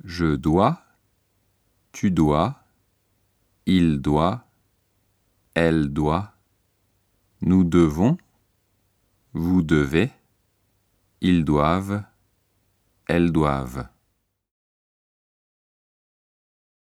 Je dois, tu dois, il doit, elle doit, nous devons, vous devez, ils doivent, elles doivent.